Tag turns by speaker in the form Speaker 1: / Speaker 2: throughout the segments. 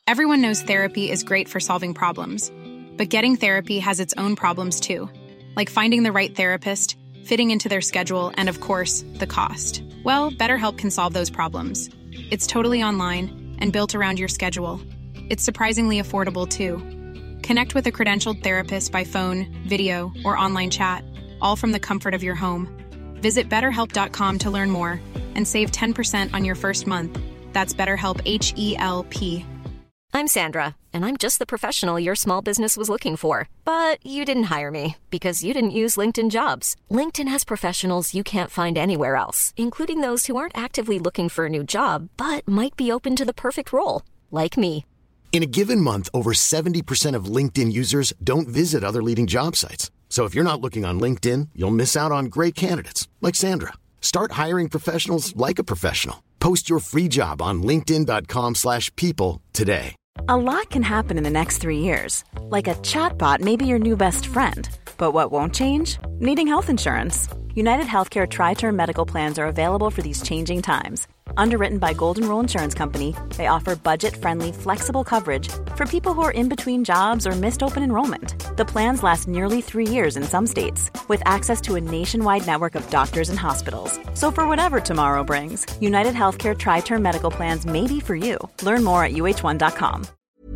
Speaker 1: Everyone knows therapy is great for solving problems, but getting therapy has its own problems too, like finding the right therapist, fitting into their schedule, and of course, the cost. Well, BetterHelp can solve those problems. It's totally online and built around your schedule. It's surprisingly affordable too. Connect with a credentialed therapist by phone, video, or online chat, all from the comfort of your home. Visit BetterHelp.com to learn more and save 10% on your first month. That's BetterHelp, H-E-L-P.
Speaker 2: I'm Sandra, and I'm just the professional your small business was looking for. But you didn't hire me because you didn't use LinkedIn Jobs. LinkedIn has professionals you can't find anywhere else, including those who aren't actively looking for a new job, but might be open to the perfect role, like me.
Speaker 3: In a given month, over 70% of LinkedIn users don't visit other leading job sites. So if you're not looking on LinkedIn, you'll miss out on great candidates like Sandra. Start hiring professionals like a professional. Post your free job on linkedin.com/people today.
Speaker 4: A lot can happen in the next 3 years. Like a chatbot may be your new best friend. But what won't change? Needing health insurance. United Healthcare Tri-Term Medical Plans are available for these changing times. Underwritten by Golden Rule Insurance Company, they offer budget-friendly, flexible coverage for people who are in between jobs or missed open enrollment. The plans last nearly 3 years in some states, with access to a nationwide network of doctors and hospitals. So for whatever tomorrow brings, United Healthcare Tri-Term Medical Plans may be for you. Learn more at uh1.com.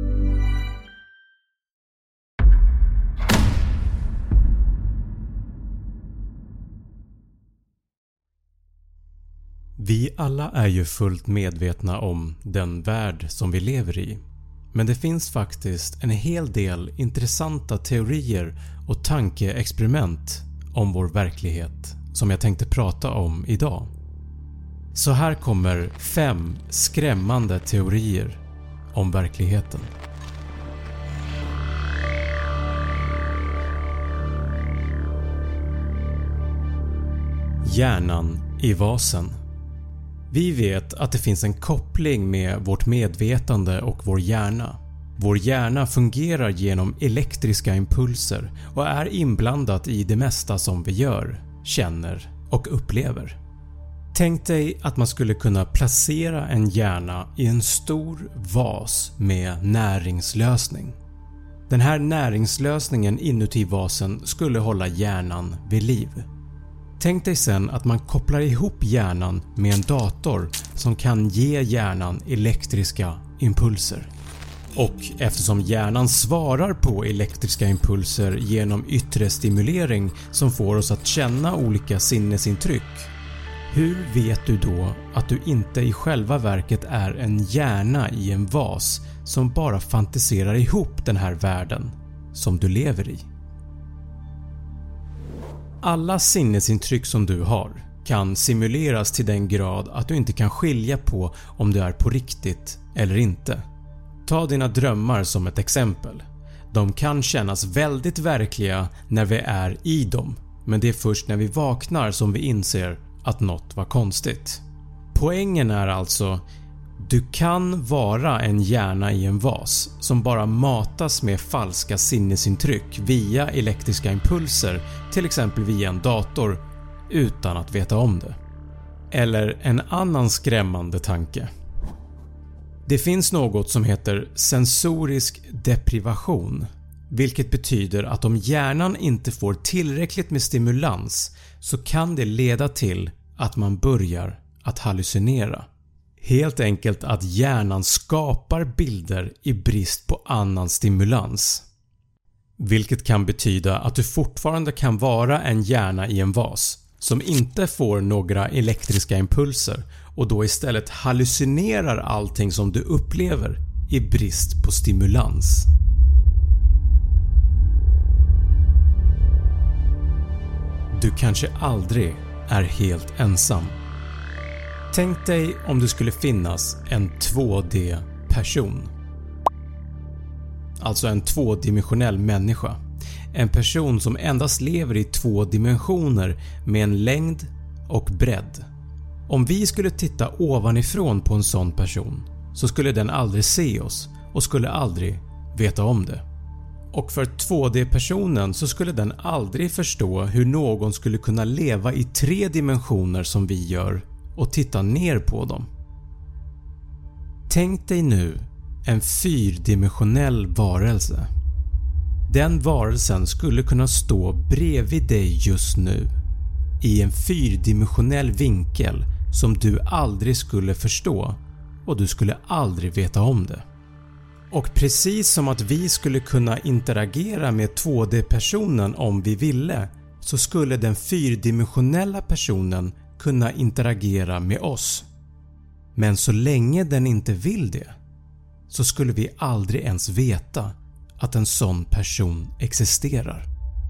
Speaker 5: Vi alla är ju fullt medvetna om den värld som vi lever i. Men det finns faktiskt en hel del intressanta teorier och tankeexperiment om vår verklighet som jag tänkte prata om idag. Så här kommer 5 skrämmande teorier om verkligheten. Hjärnan i vasen. Vi vet att det finns en koppling med vårt medvetande och vår hjärna. Vår hjärna fungerar genom elektriska impulser och är inblandat i det mesta som vi gör, känner och upplever. Tänk dig att man skulle kunna placera en hjärna i en stor vas med näringslösning. Den här näringslösningen inuti vasen skulle hålla hjärnan vid liv. Tänk dig sen att man kopplar ihop hjärnan med en dator som kan ge hjärnan elektriska impulser. Och eftersom hjärnan svarar på elektriska impulser genom yttre stimulering som får oss att känna olika sinnesintryck, hur vet du då att du inte i själva verket är en hjärna i en vas som bara fantiserar ihop den här världen som du lever i? Alla sinnesintryck som du har kan simuleras till den grad att du inte kan skilja på om det är på riktigt eller inte. Ta dina drömmar som ett exempel. De kan kännas väldigt verkliga när vi är i dem, men det är först när vi vaknar som vi inser att något var konstigt. Poängen är alltså: du kan vara en hjärna i en vas som bara matas med falska sinnesintryck via elektriska impulser, till exempel via en dator, utan att veta om det. Eller en annan skrämmande tanke. Det finns något som heter sensorisk deprivation, vilket betyder att om hjärnan inte får tillräckligt med stimulans så kan det leda till att man börjar att hallucinera. Helt enkelt att hjärnan skapar bilder i brist på annan stimulans. Vilket kan betyda att du fortfarande kan vara en hjärna i en vas som inte får några elektriska impulser och då istället hallucinerar allting som du upplever i brist på stimulans. Du kanske aldrig är helt ensam. Tänk dig om det skulle finnas en 2D-person. Alltså en tvådimensionell människa. En person som endast lever i 2 dimensioner med en längd och bredd. Om vi skulle titta ovanifrån på en sån person så skulle den aldrig se oss och skulle aldrig veta om det. Och för 2D-personen så skulle den aldrig förstå hur någon skulle kunna leva i 3 dimensioner som vi gör och titta ner på dem. Tänk dig nu en fyrdimensionell varelse. Den varelsen skulle kunna stå bredvid dig just nu i en fyrdimensionell vinkel som du aldrig skulle förstå och du skulle aldrig veta om det. Och precis som att vi skulle kunna interagera med 2D-personen om vi ville, så skulle den fyrdimensionella personen kunna interagera med oss. Men så länge den inte vill det, så skulle vi aldrig ens veta att en sån person existerar.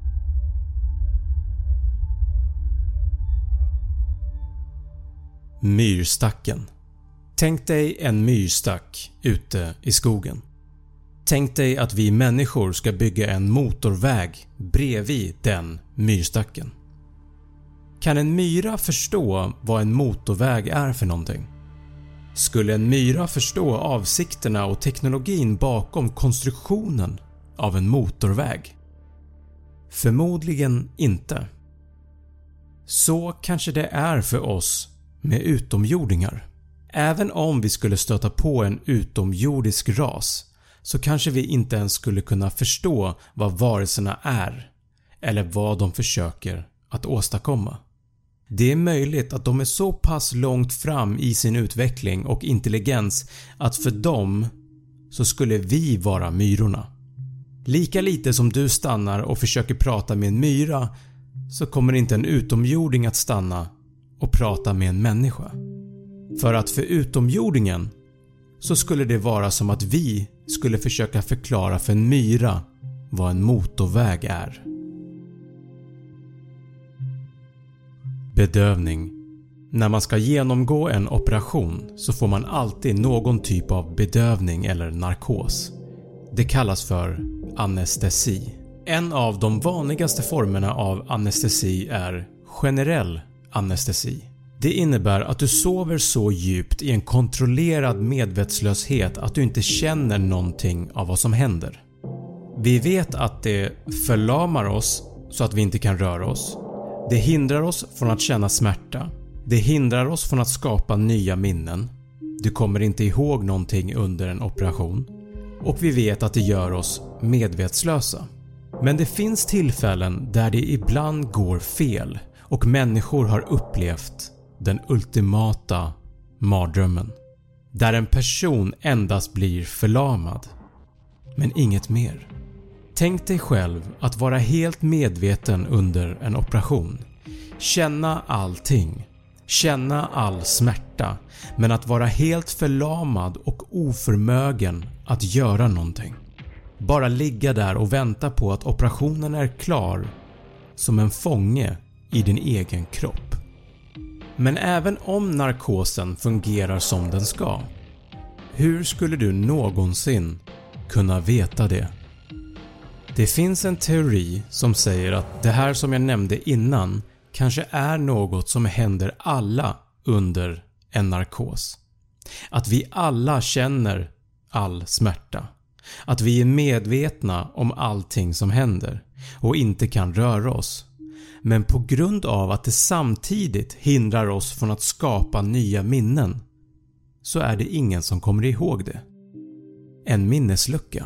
Speaker 5: Myrstacken. Tänk dig en myrstack ute i skogen. Tänk dig att vi människor ska bygga en motorväg bredvid den myrstacken. Kan en myra förstå vad en motorväg är för någonting? Skulle en myra förstå avsikterna och teknologin bakom konstruktionen av en motorväg? Förmodligen inte. Så kanske det är för oss med utomjordingar. Även om vi skulle stöta på en utomjordisk ras, så kanske vi inte ens skulle kunna förstå vad varelserna är eller vad de försöker att åstadkomma. Det är möjligt att de är så pass långt fram i sin utveckling och intelligens att för dem så skulle vi vara myrorna. Lika lite som du stannar och försöker prata med en myra, så kommer inte en utomjording att stanna och prata med en människa. För att för utomjordingen så skulle det vara som att vi skulle försöka förklara för en myra vad en motorväg är. Bedövning. När man ska genomgå en operation så får man alltid någon typ av bedövning eller narkos. Det kallas för anestesi. En av de vanligaste formerna av anestesi är generell anestesi. Det innebär att du sover så djupt i en kontrollerad medvetslöshet att du inte känner någonting av vad som händer. Vi vet att det förlamar oss så att vi inte kan röra oss. Det hindrar oss från att känna smärta. Det hindrar oss från att skapa nya minnen. Du kommer inte ihåg någonting under en operation. Och vi vet att det gör oss medvetslösa. Men det finns tillfällen där det ibland går fel och människor har upplevt den ultimata mardrömmen. Där en person endast blir förlamad, men inget mer. Tänk dig själv att vara helt medveten under en operation. Känna allting. Känna all smärta, men att vara helt förlamad och oförmögen att göra någonting. Bara ligga där och vänta på att operationen är klar, som en fånge i din egen kropp. Men även om narkosen fungerar som den ska, hur skulle du någonsin kunna veta det? Det finns en teori som säger att det här som jag nämnde innan kanske är något som händer alla under en narkos. Att vi alla känner all smärta. Att vi är medvetna om allting som händer och inte kan röra oss. Men på grund av att det samtidigt hindrar oss från att skapa nya minnen, så är det ingen som kommer ihåg det. En minneslucka.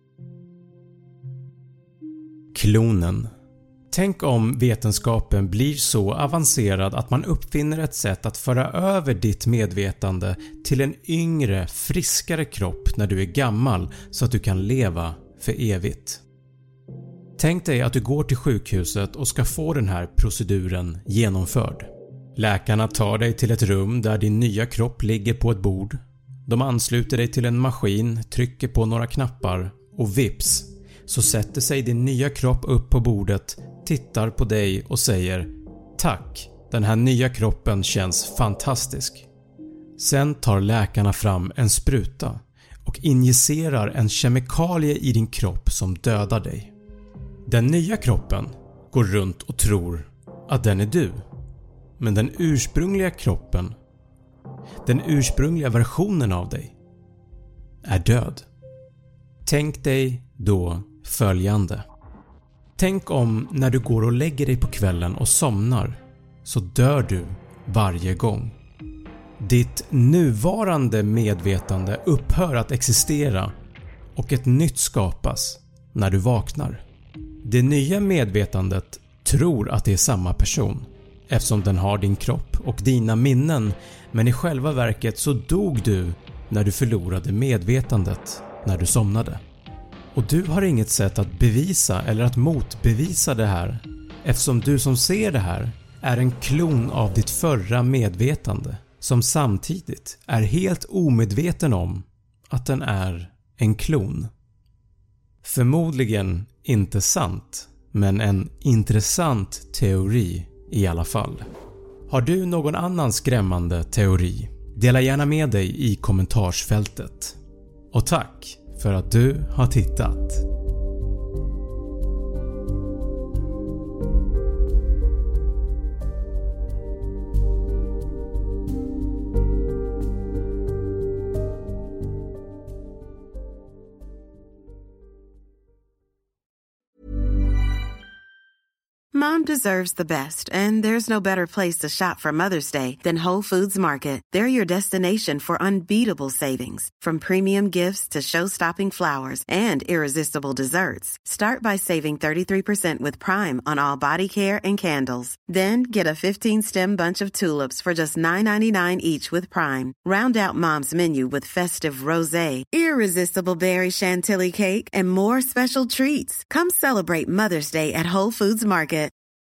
Speaker 5: Klonen. Tänk om vetenskapen blir så avancerad att man uppfinner ett sätt att föra över ditt medvetande till en yngre, friskare kropp när du är gammal så att du kan leva för evigt. Tänk dig att du går till sjukhuset och ska få den här proceduren genomförd. Läkarna tar dig till ett rum där din nya kropp ligger på ett bord. De ansluter dig till en maskin, trycker på några knappar och vips så sätter sig din nya kropp upp på bordet, tittar på dig och säger "Tack, den här nya kroppen känns fantastisk." Sen tar läkarna fram en spruta och injicerar en kemikalie i din kropp som dödar dig. Den nya kroppen går runt och tror att den är du. Men den ursprungliga kroppen, den ursprungliga versionen av dig, är död. Tänk dig då följande. Tänk om när du går och lägger dig på kvällen och somnar så dör du varje gång. Ditt nuvarande medvetande upphör att existera och ett nytt skapas när du vaknar. Det nya medvetandet tror att det är samma person eftersom den har din kropp och dina minnen, men i själva verket så dog du när du förlorade medvetandet när du somnade. Och du har inget sätt att bevisa eller att motbevisa det här eftersom du som ser det här är en klon av ditt förra medvetande som samtidigt är helt omedveten om att den är en klon. Förmodligen inte sant, men en intressant teori i alla fall. Har du någon annan skrämmande teori? Dela gärna med dig i kommentarsfältet. Och tack för att du har tittat.
Speaker 6: Mom deserves the best, and there's no better place to shop for Mother's Day than Whole Foods Market. They're your destination for unbeatable savings, from premium gifts to show-stopping flowers and irresistible desserts. Start by saving 33% with Prime on all body care and candles. Then get a 15-stem bunch of tulips for just $9.99 each with Prime. Round out Mom's menu with festive rosé, irresistible berry chantilly cake, and more special treats. Come celebrate Mother's Day at Whole Foods Market.